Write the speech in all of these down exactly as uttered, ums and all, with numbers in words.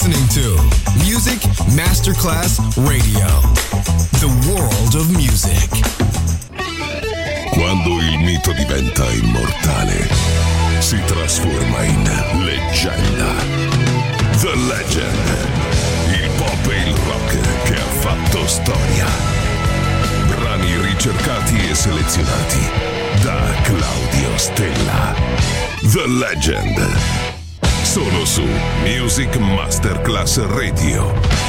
listening to Music Masterclass Radio, the world of music. Quando il mito diventa immortale, si trasforma in leggenda. The Legend, il pop e il rock che ha fatto storia. Brani ricercati e selezionati da Claudio Stella. The Legend, solo su Music Masterclass Radio.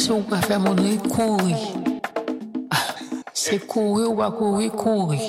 show vai faire mon nez courir. C'est courir ou pas courir, courir.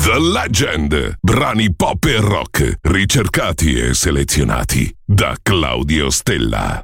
The Legend, brani pop e rock, ricercati e selezionati da Claudio Stella.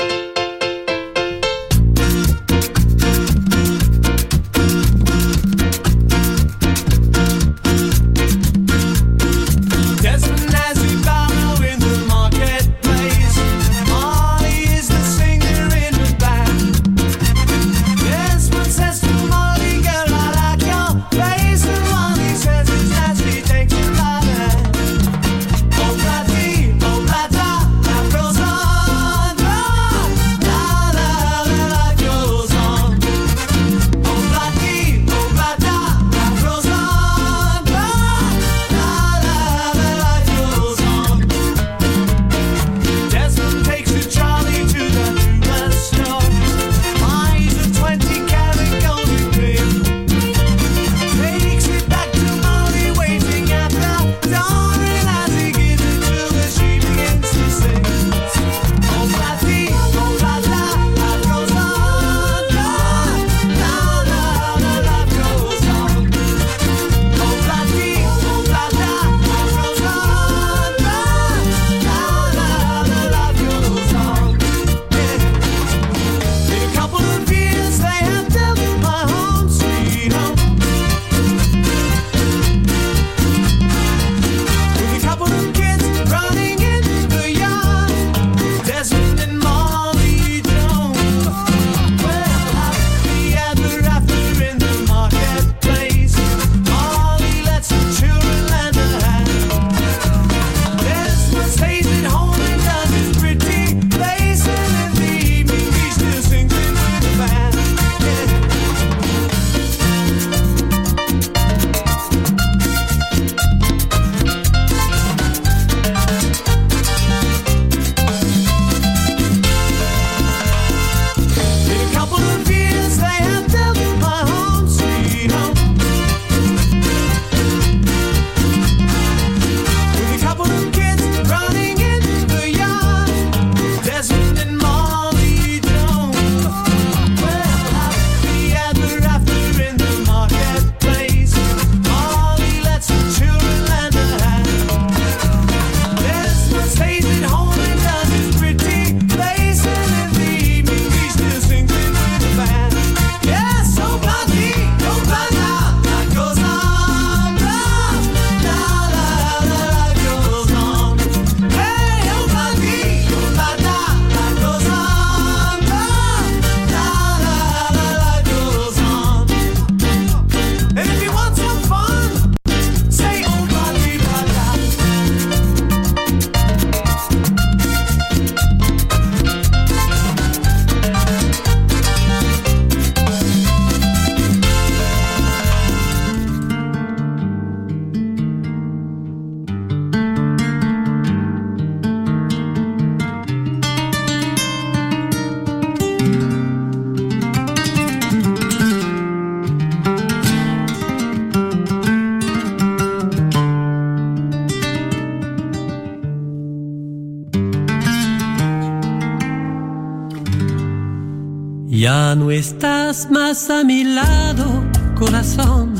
Ya no estás más a mi lado, corazón.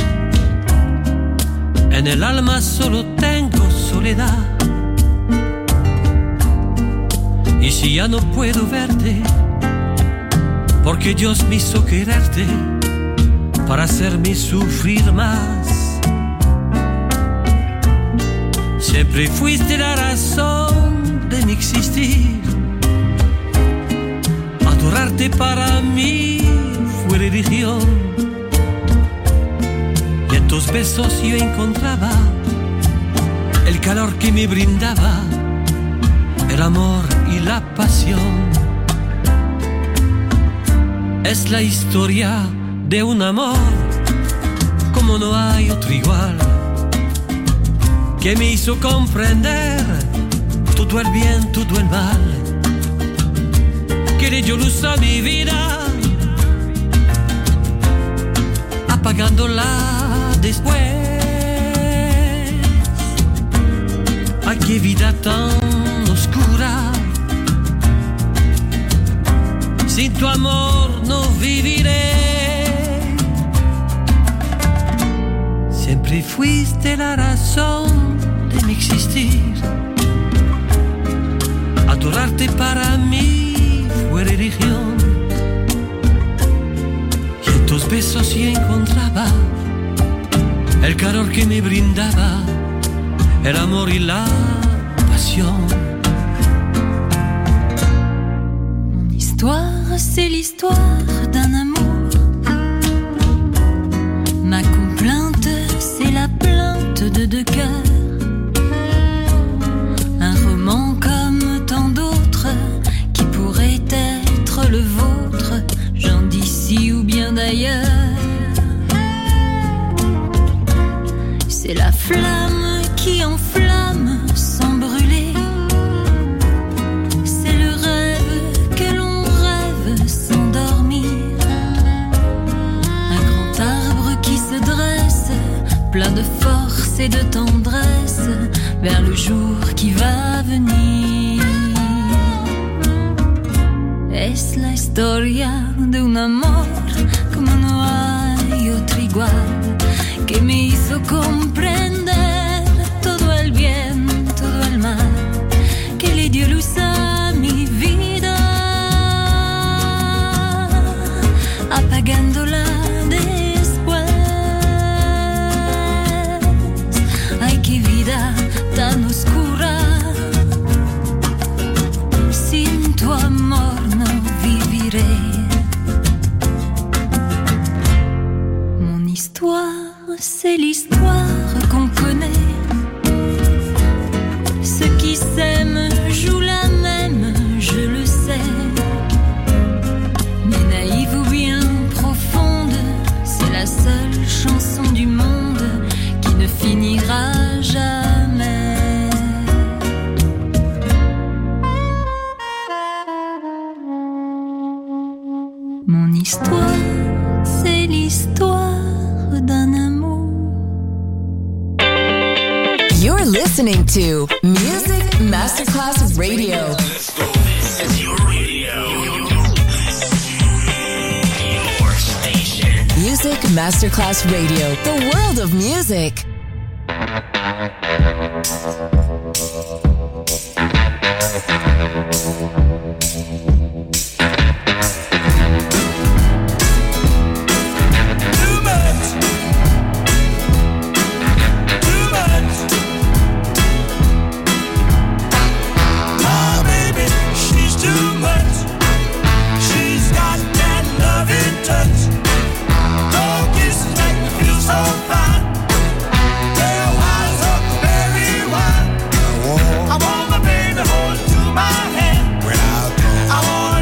En el alma solo tengo soledad. Y si ya no puedo verte, porque Dios me hizo quererte para hacerme sufrir más. Siempre fuiste la razón de mi existir. Adorarte para mí fue religión. Y en tus besos yo encontraba el calor que me brindaba el amor y la pasión. Es la historia de un amor como no hay otro igual, que me hizo comprender todo el bien, todo el mal, que le dio luz a mi vida, apagándola después. Ay, qué vida tan oscura, sin tu amor no viviré. Siempre fuiste la razón de mi existir. Adorarte para mí fue religión. Y en tus besos yo encontraba el calor que me brindaba el amor y la pasión. Mon histoire, c'est l'histoire d'un amour. Ma complainte, c'est la plainte de deux cœurs. Un roman comme tant d'autres qui pourrait être le vôtre, gens d'ici ou bien d'ailleurs. C'est la flamme qui enflamme sans brûler. C'est le rêve que l'on rêve sans dormir. Un grand arbre qui se dresse, plein de force et de tendresse, vers le jour qui va venir. Es la historia de un amor como no hay otro igual, que me hizo comprender todo el bien, todo el mal, que le dio luz a mi vida, apagándola después. Ay, qué vida tan oscura, sin tu amor no viviré. Mon histoire, c'est l'histoire qu'on connaît. Ceux qui s'aiment jouent la même, je le sais. Mais naïve ou bien profonde, c'est la seule chanson du monde qui ne finira jamais. Mon histoire, c'est l'histoire d'un amour. You're listening to Music Masterclass Radio. This is your radio. Your station. Music Masterclass Radio. The world of music. I want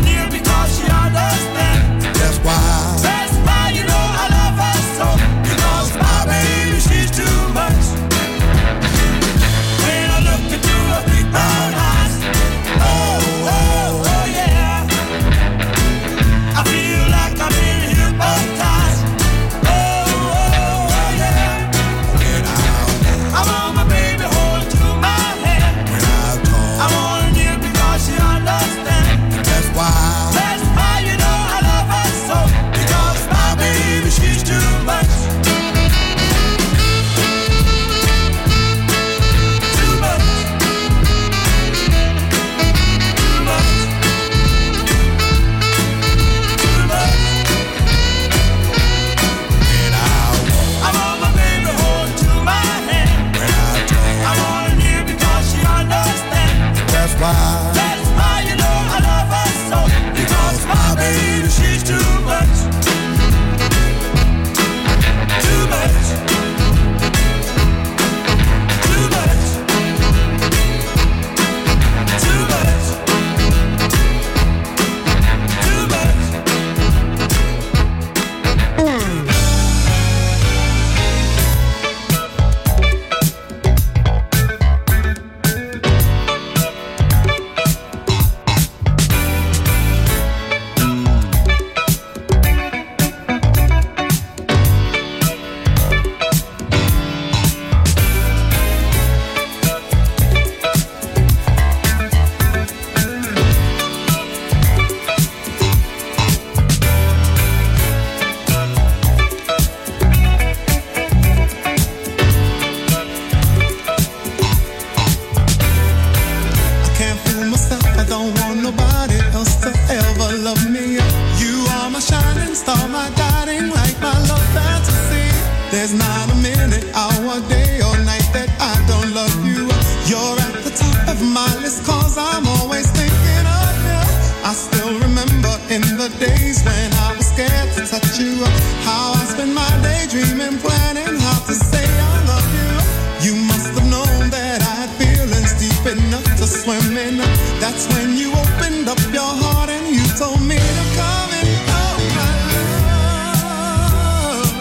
That's when you opened up your heart and you told me to come in. Oh, my love.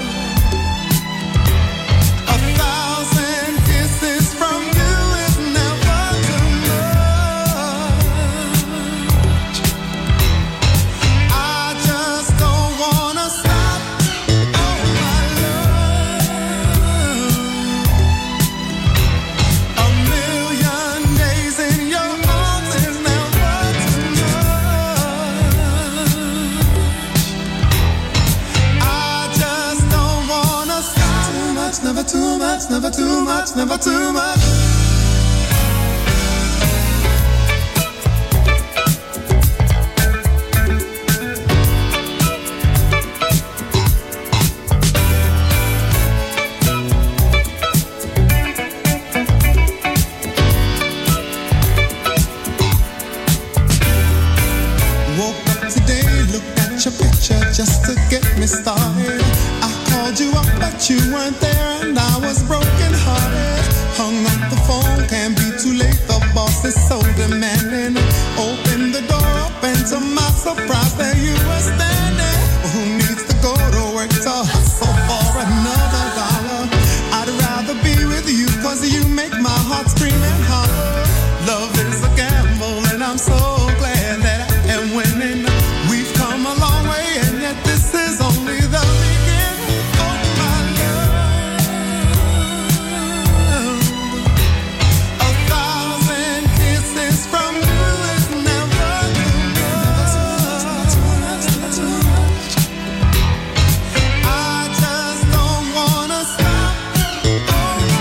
A thousand kisses from you is never too much. I just don't wanna stop. Oh, my love. A million days in your arms is never too much. I just don't wanna stop. Too much, never too much, never too much, never too much. Woke up today, looked at your picture just to get me started. I called you up, but you weren't there, and I was broken hearted. Hung up the phone, can't be too late. The boss is so demanding. Opened the door up, and to my surprise, there you were standing. Who needs to go to work to hustle for another dollar? I'd rather be with you, cause you make my heart scream and holler. Love is a gamble, and I'm so glad that I am winning. We've come a long way, and yet this is only the beginning. Oh, my love. A thousand kisses from you is never too much. I just don't wanna stop. Oh,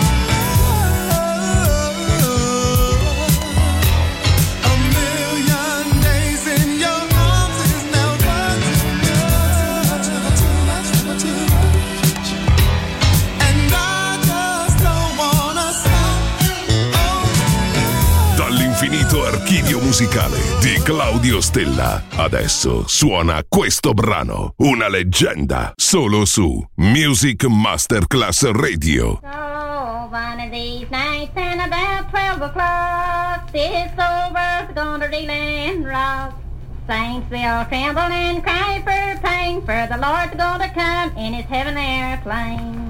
a million days in your arms is never too much. And I just don't wanna stop. Dall'infinito archivio musicale di Claudio Stella. Adesso suona questo brano, una leggenda, solo su Music Masterclass Radio. So one of these nights and about twelve o'clock, this old world's gonna reel and rock. Saints will tremble and cry for pain, for the Lord's gonna come in his heaven airplane.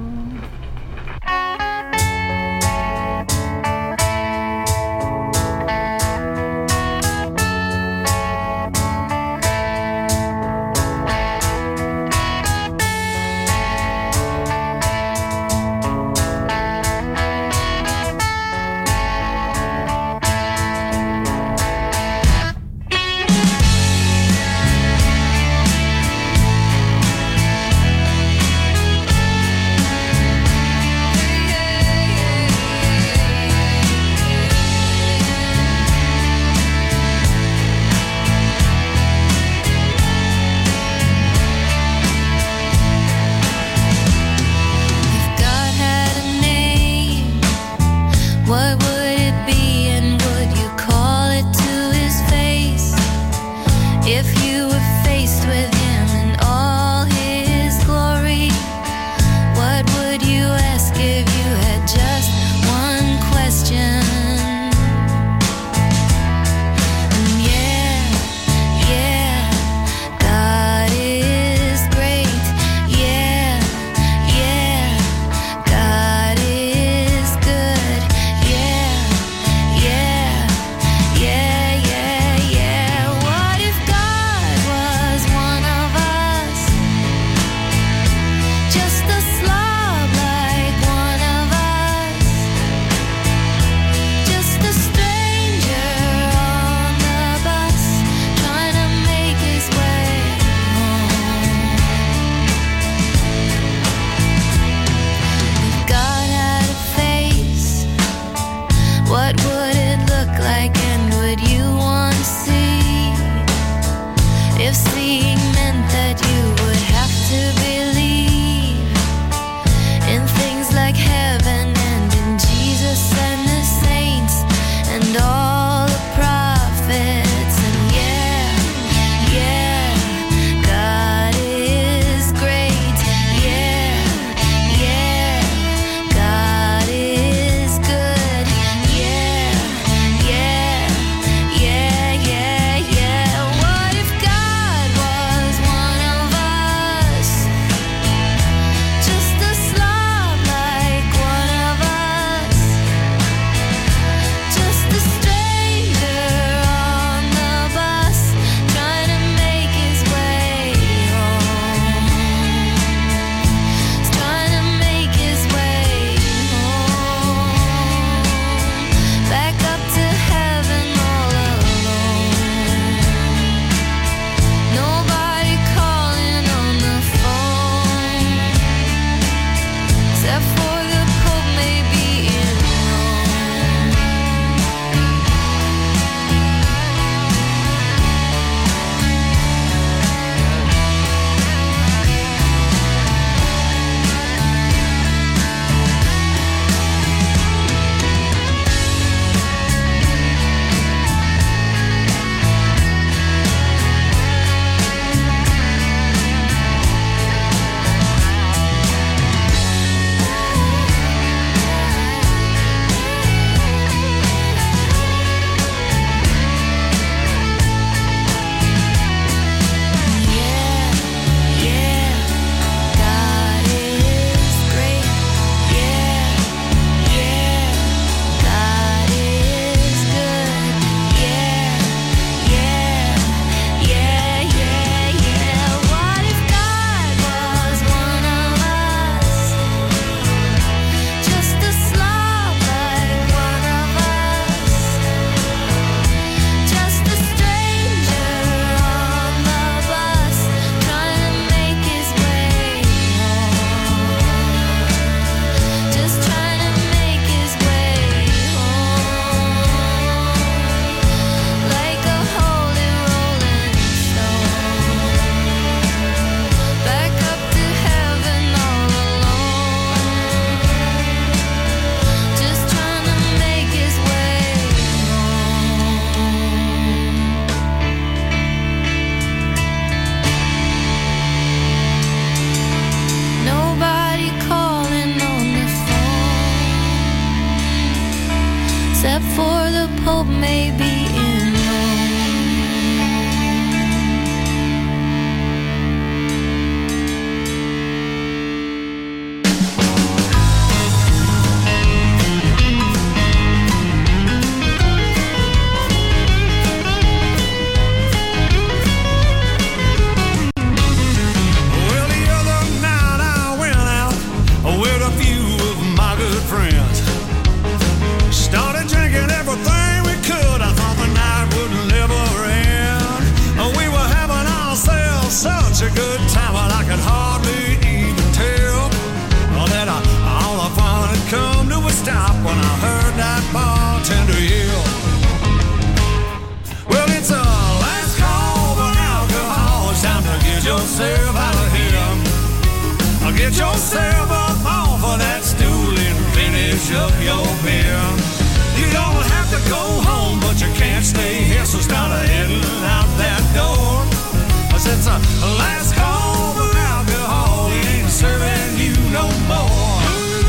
If God had a name, what would it be, and would you call it to his face? If you were faced with him in all his glory, what would you ask if you had just one question? And yeah, yeah, God is great. Yeah, yeah, God is good. Yeah, except for the Pope maybe in a good time, well, I could hardly even tell oh, that I, all the fun had come to a stop when I heard that bartender yell. Well, it's a last call for alcohol. It's time to get yourself out of here. Get yourself up off of that stool and finish up your beer. You don't have to go home, but you can't stay here, so start heading out that door. It's a last call for alcohol. He ain't serving you no more.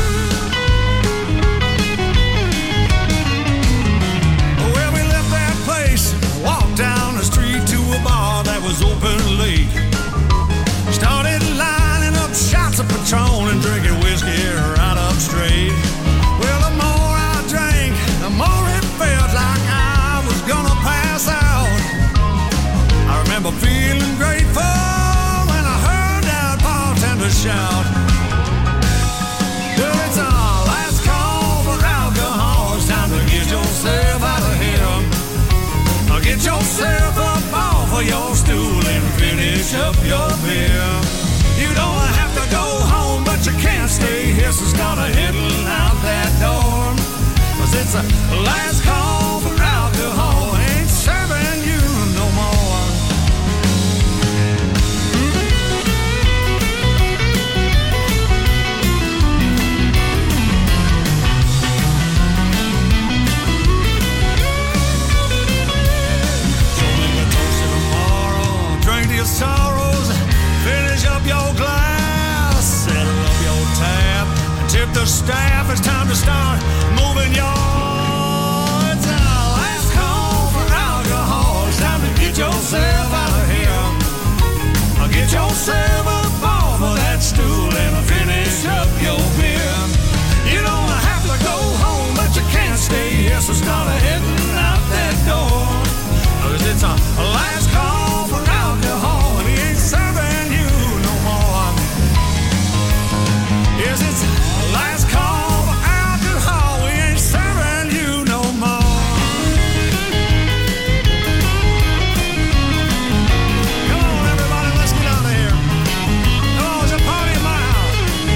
Well, we left that place, walked down the street to a bar that was open late. Started lining up shots of Patron and drinking whiskey right up straight. Well, the more I drank, the more it felt like I was gonna pass out. I remember feeling grateful when I heard that bartender shout. Well, it's a last call for alcohol. It's time to get yourself out of here. Get yourself up off of your stool and finish up your beer. You don't have to go home, but you can't stay here, so start heading out that door. 'Cause it's a last call for alcohol. Ain't serving you no more. Your sorrows, finish up your glass, settle up your tab, and tip the staff. It's time to start moving your. It's a last call for alcohol. It's time to get yourself out of here. Get yourself up off of that stool and finish up your beer. You don't have to go home, but you can't stay here, so start heading out that door. 'Cause it's a last call for alcohol, and he ain't serving you no more. Yes, it's a last call for alcohol, he ain't serving you no more. Come on, everybody, let's get out of here. Come on, it's a party in my house.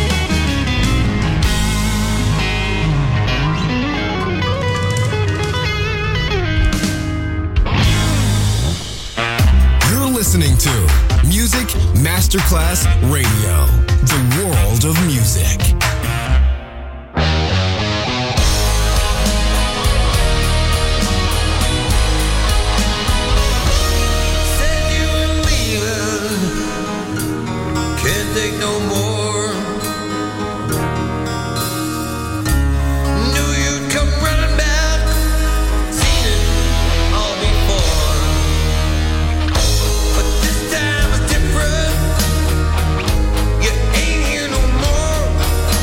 Listening to Music Masterclass Radio, the world of music. Said you were leaving, can't take no more. Knew you'd come running back, seen it all before. But this time it's different. You ain't here no more.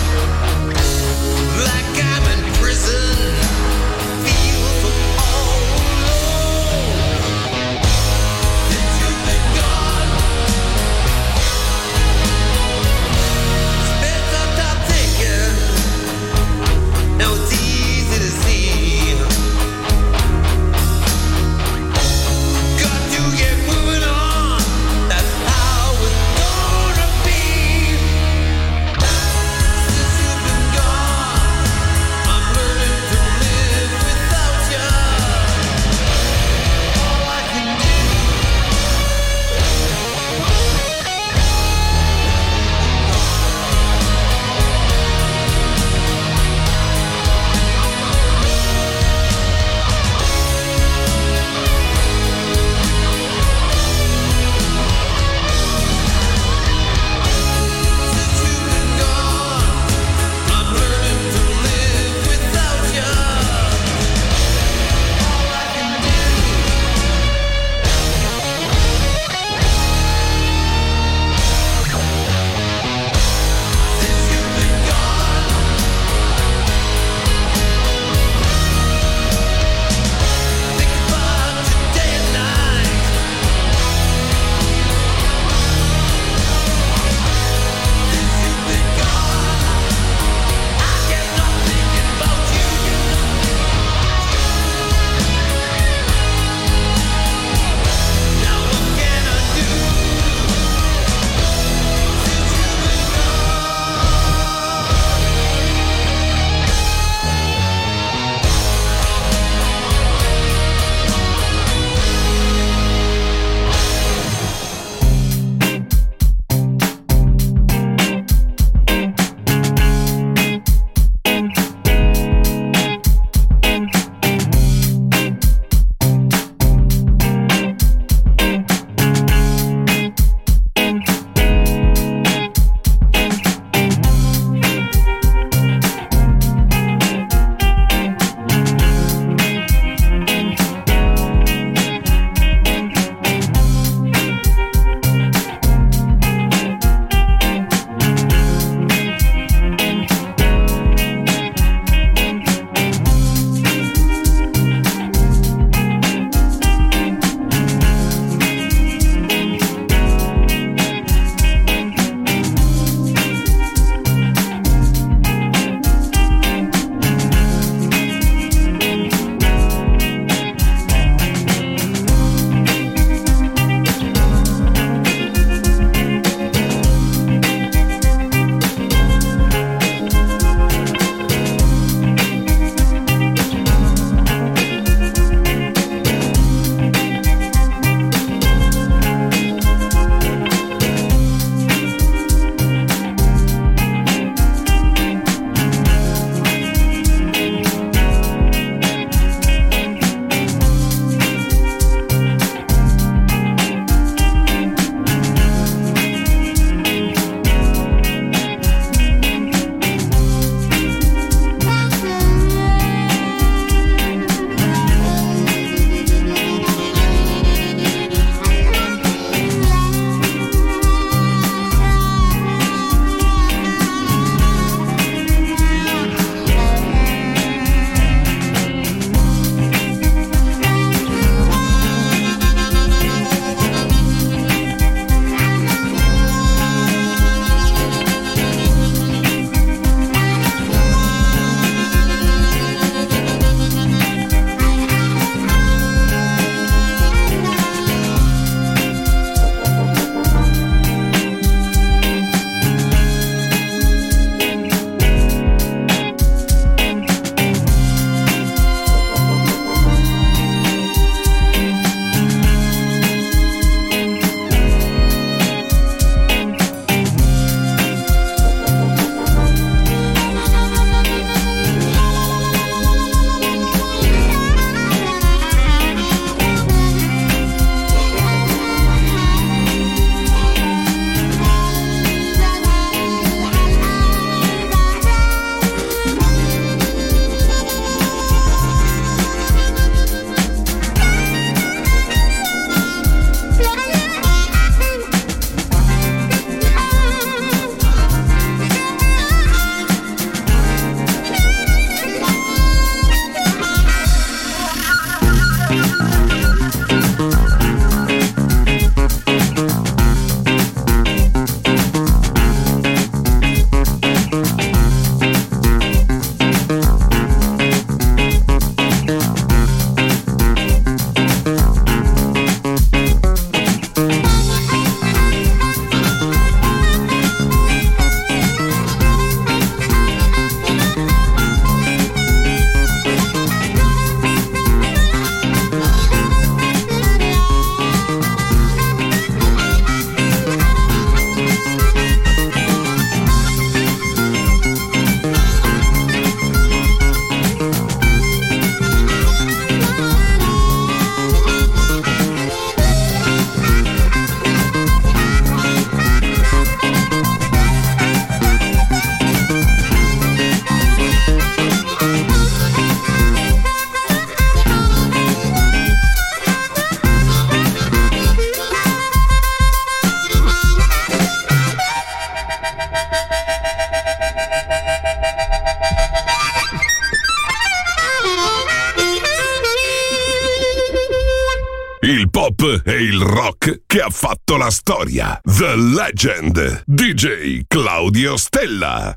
il pop e il rock che ha fatto la storia. The Legend, D J Claudio Stella.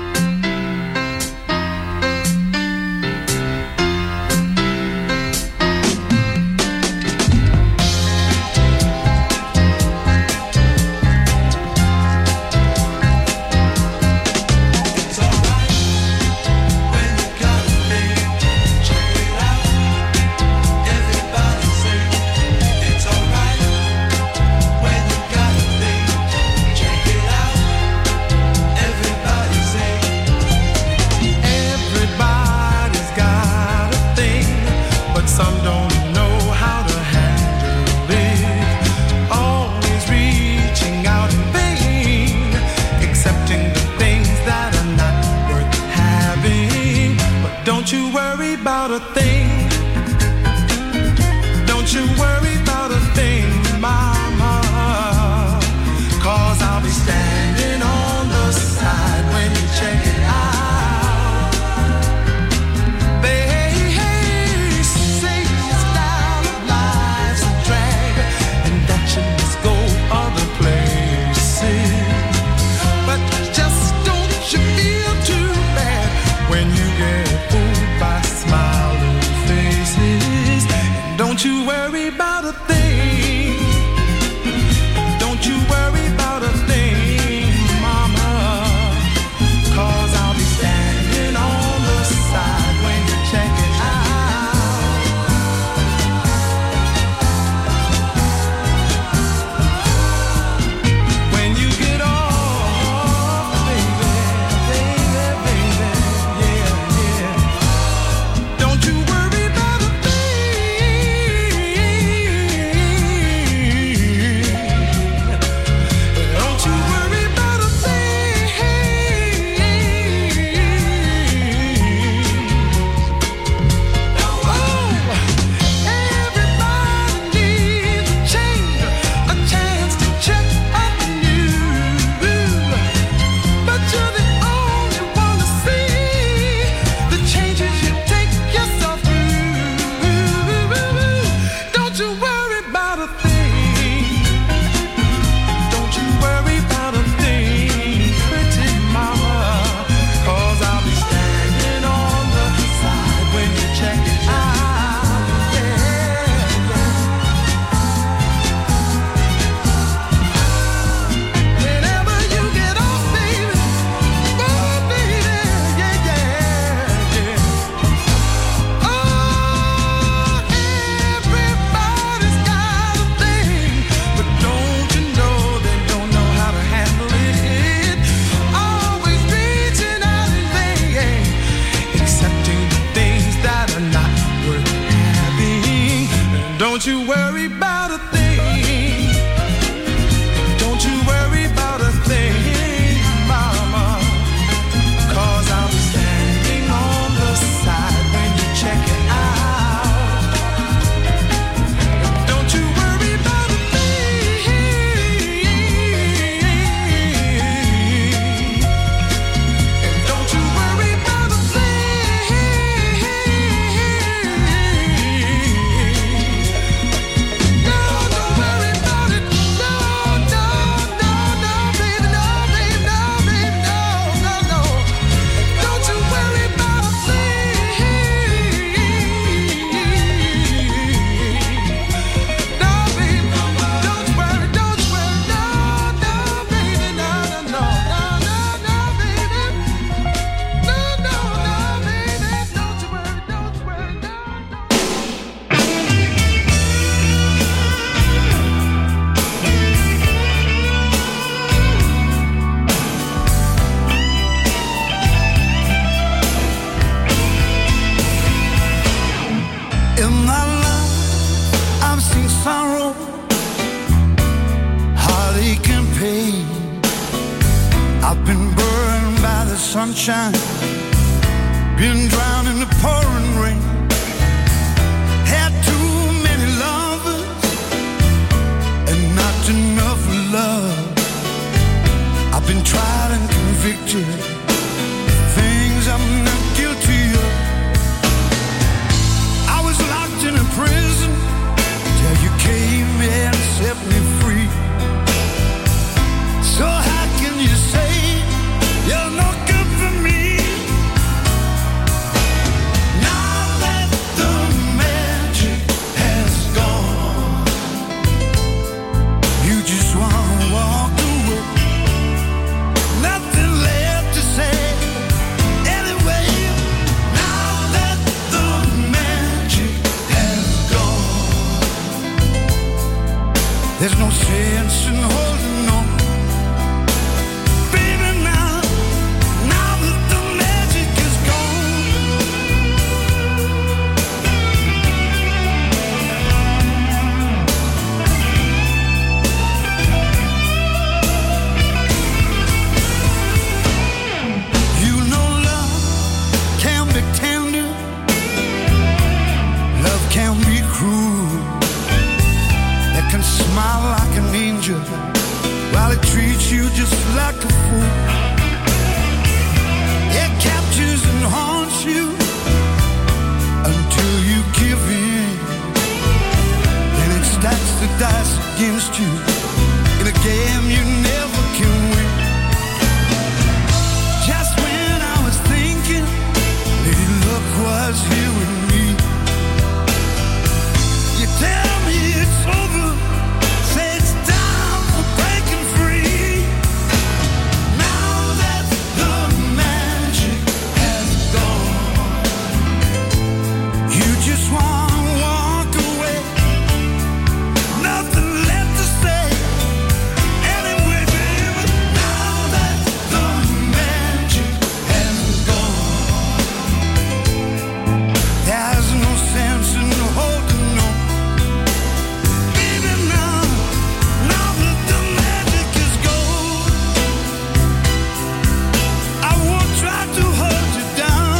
Sunshine, been drowned in the pouring rain. Had too many lovers and not enough love. I've been tried and convicted, things I'm not guilty of. I was locked in a prison till you came. sense in holding on. Baby, now, now that the magic is gone, you know love can be tender, love can be cruel. It can smile like an angel while it treats you just like a fool. It captures and haunts you until you give in. Then it stacks the dice against you in a game you never can win. Just when I was thinking maybe luck was here with me, you tell me it's over, say it's time for breaking free. Now that the magic has gone, you just wanna walk away, nothing left to say. Anyway, baby, now that the magic has gone, there's no sense in holding on. Baby, now, now that the magic is gone, I won't try to hold you down.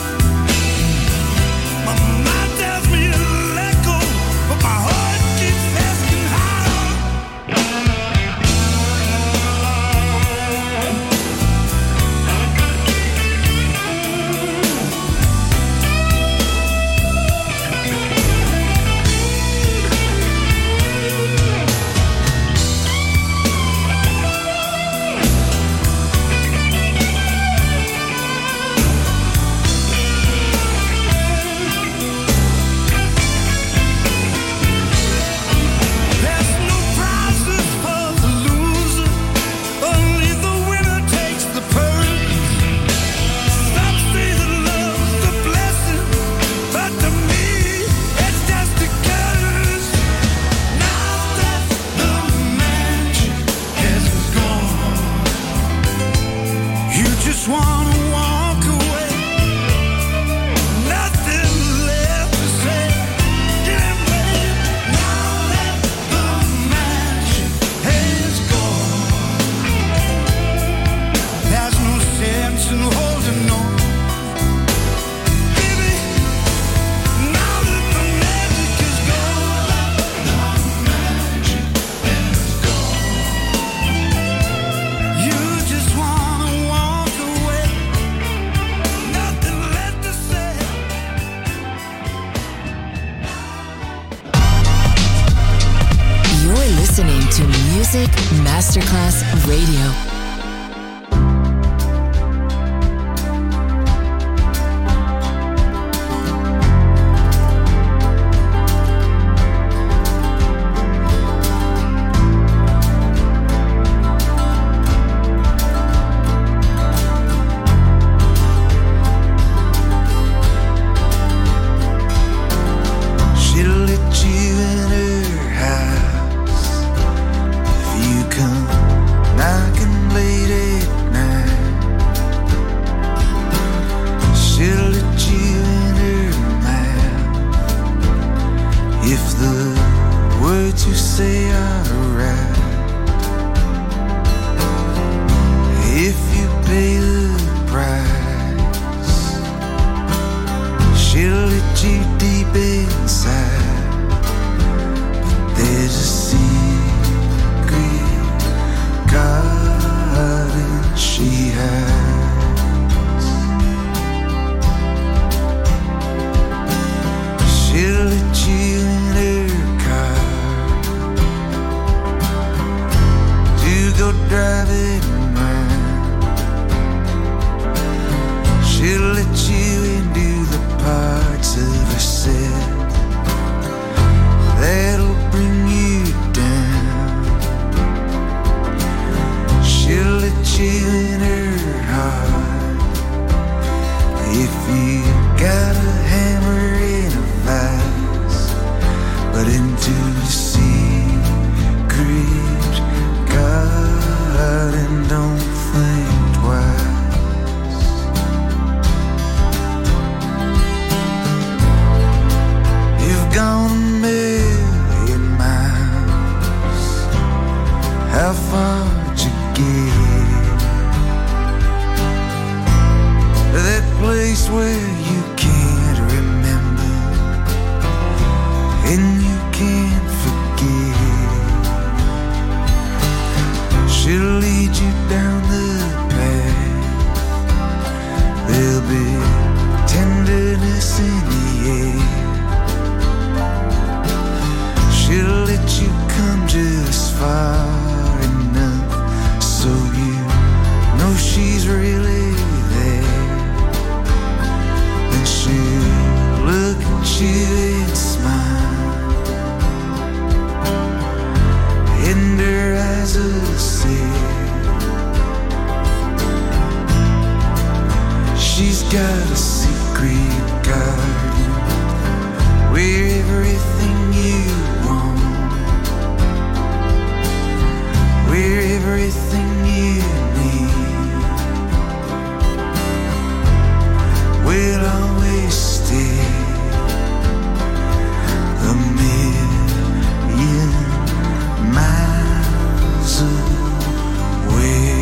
My mind tells me to let go, but my heart keeps asking how. There's no prizes for the loser, only the winner takes the purse. Some say that love's a blessing, but to me it's just a curse. Now that the magic has gone, you just wanna walk away, nothing left to say. Getting ready. Now that the magic has gone, there's no sense in holding on. Baby, now that the magic is gone, the magic is gone, you just wanna walk away, nothing left to say. You're listening to Music Masterclass Radio. She'll let you in her house if you come knocking late at night. She'll let you in her mouth if the words you say are right. If you pay the price, she'll let you deep inside. But there's a secret garden she hides. She'll let you in her car to go driving around. She'll let you into the parts of herself she did smile, and her eyes are sad. She's got a secret garden where everything you want, where everything you need will always stay a million miles away.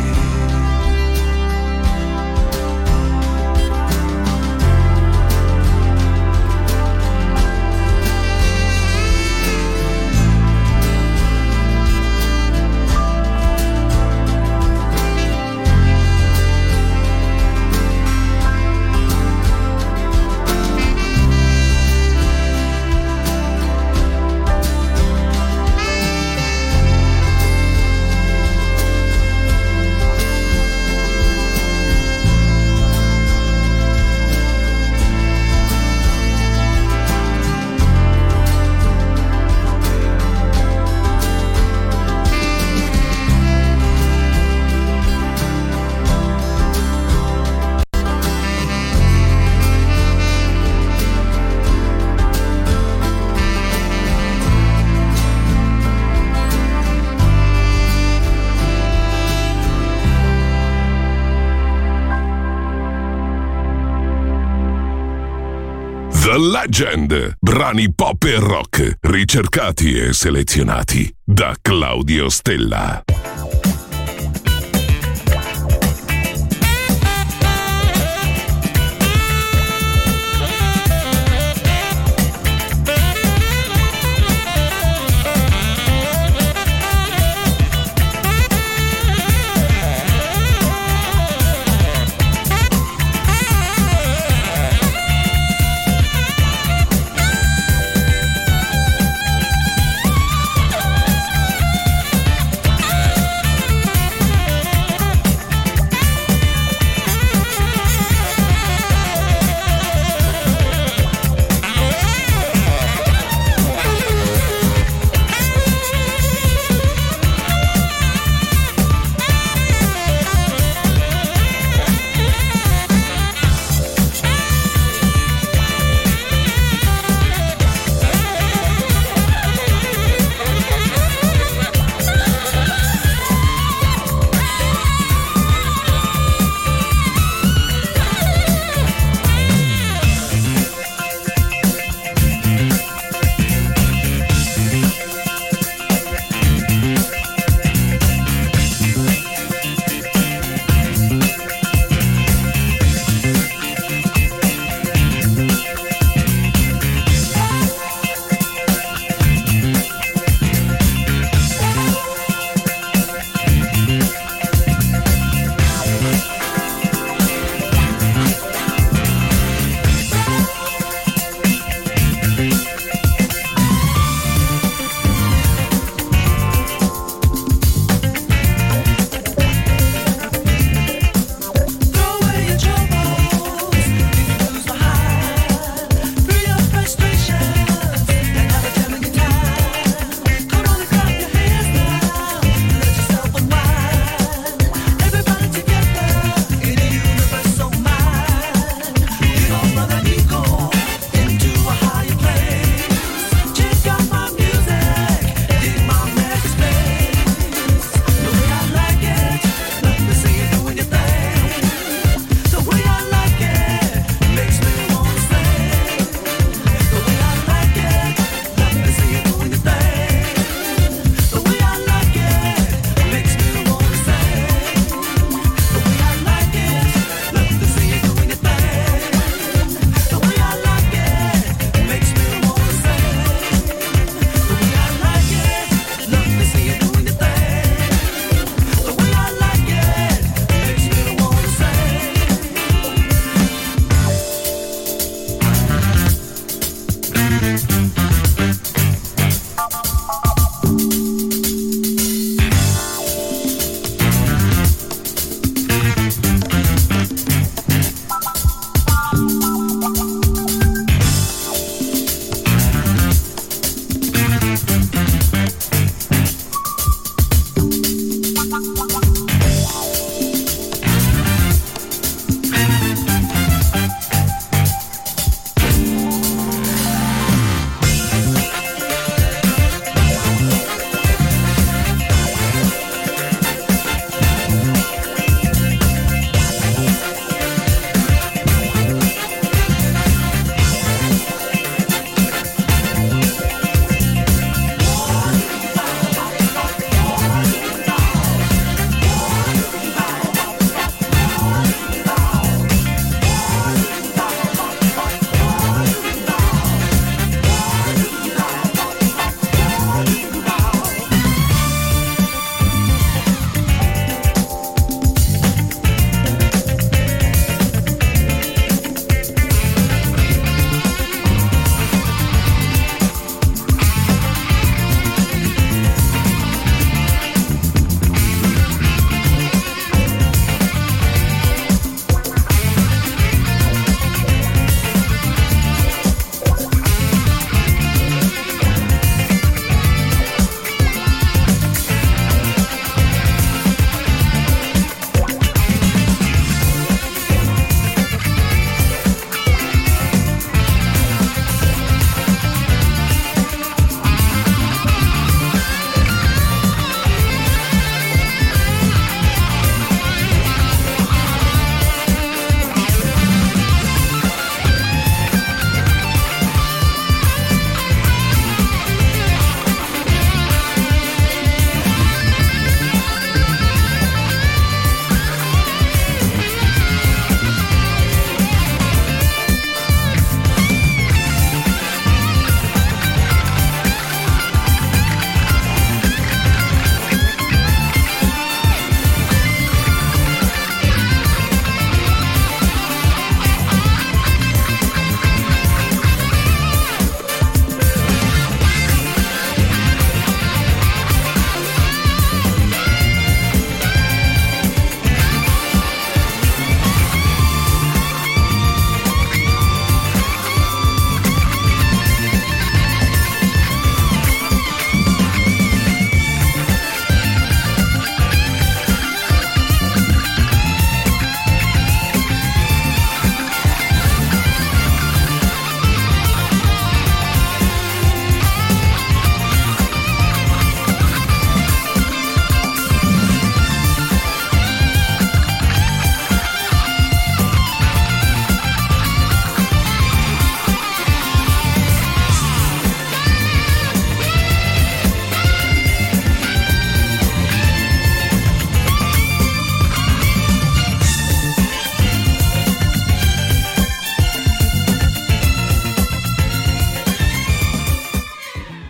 The Legend, brani pop e rock, ricercati e selezionati da Claudio Stella.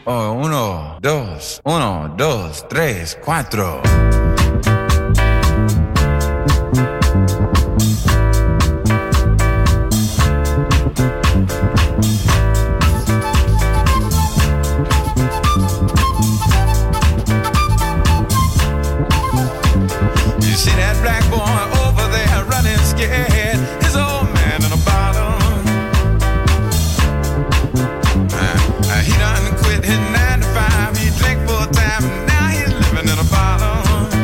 Oh, uno, dos, uno, dos, tres, cuatro. You see that black boy over there running scared, his old man in a bottle. Uh, he done quit his nine to five, he drank full time, and now he's living in a bottle.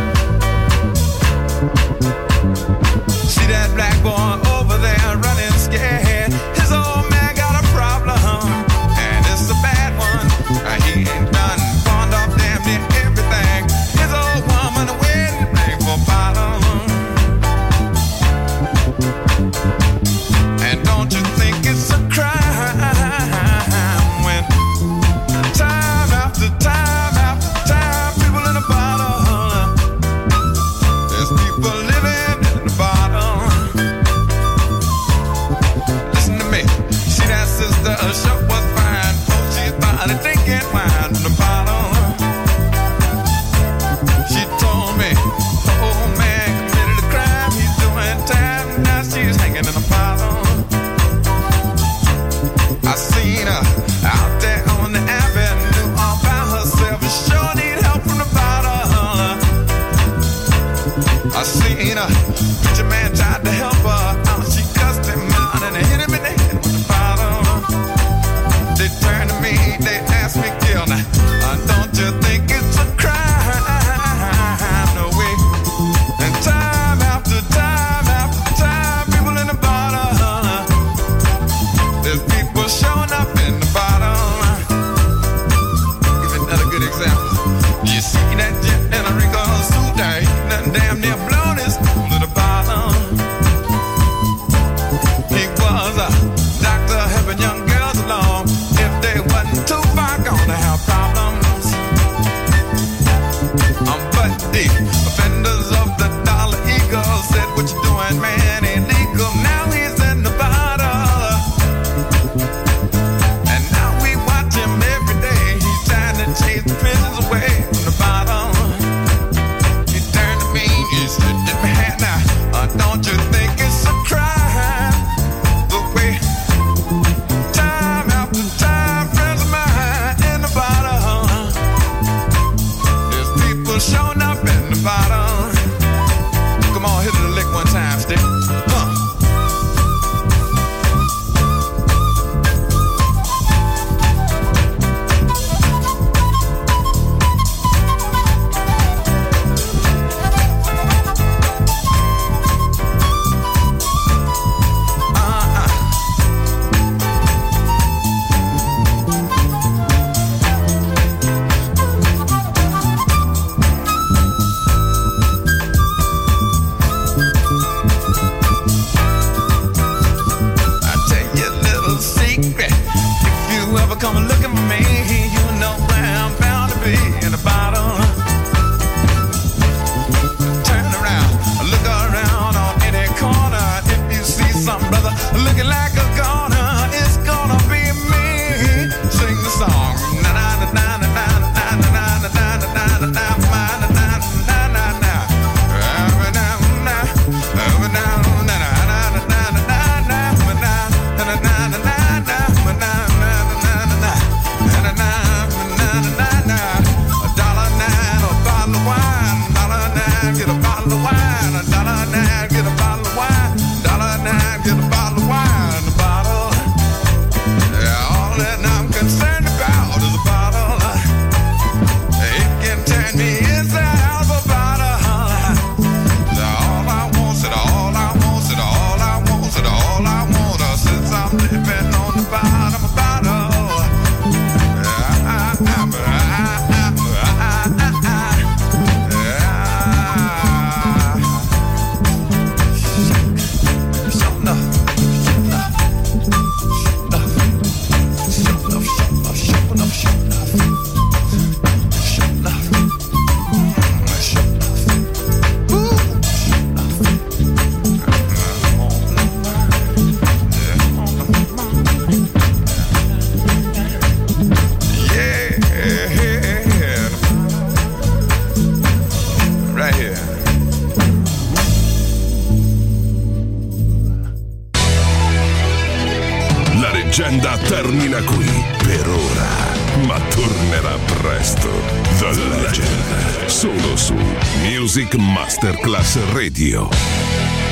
See that black boy over there running scared, his old man got a problem, and it's a bad one. Uh, he ain't done pawned off damn near everything. His old woman waiting to bring for bottle. And don't you think it's a crime when time after time after time people in a bottle, there's people living in the bottle. Listen to me, see that sister, her shirt was fine, oh she's finally drinking wine in the bottle. She told me, the old man committed a crime, he's doing time, now she's hanging in a bottle. I seen her out there on the avenue all by herself, and sure need help from the bottle. I seen her, preacher man tried to help her out, she cussed him out and hit him in the head with the bottle. They turned to me, they asked me, Gil, now, uh, don't you think it's a crime? No way. And time after time after time, people in the bottle, there's people showing up in the bottle. Give another good example. You see that jet in a Rico suit there, he done damn near blown his cool in the bottle. He was a doctor helping young girls along. If they wasn't too far gone to have problems. I'm but deep. Offenders of the Dollar Eagle said, what you doing, man, illegal. Now he's in the bottle. And now we watch him every day. He's trying to chase the prisons away from the bottle. He turned to me, he said, man, now, uh, don't you think it's a crime? The way time after time, friends of mine in the bottle. There's people showing up in the bottle. Come on, hit it a lick one time, stick. Huh. I tell you a little secret. If you ever come looking for me, you know where I'm bound to be in the bottle. Turn around, look around on any corner. If you see some brother looking like a goner, it's gonna be me. Sing the song. Na na na na na na na na na na na na na na na na na na. Every now and now, every now and now, na na na na na na na na na na na na na na na na na na na. leggenda termina qui per ora, ma tornerà presto. The Legend, solo su Music Masterclass Radio.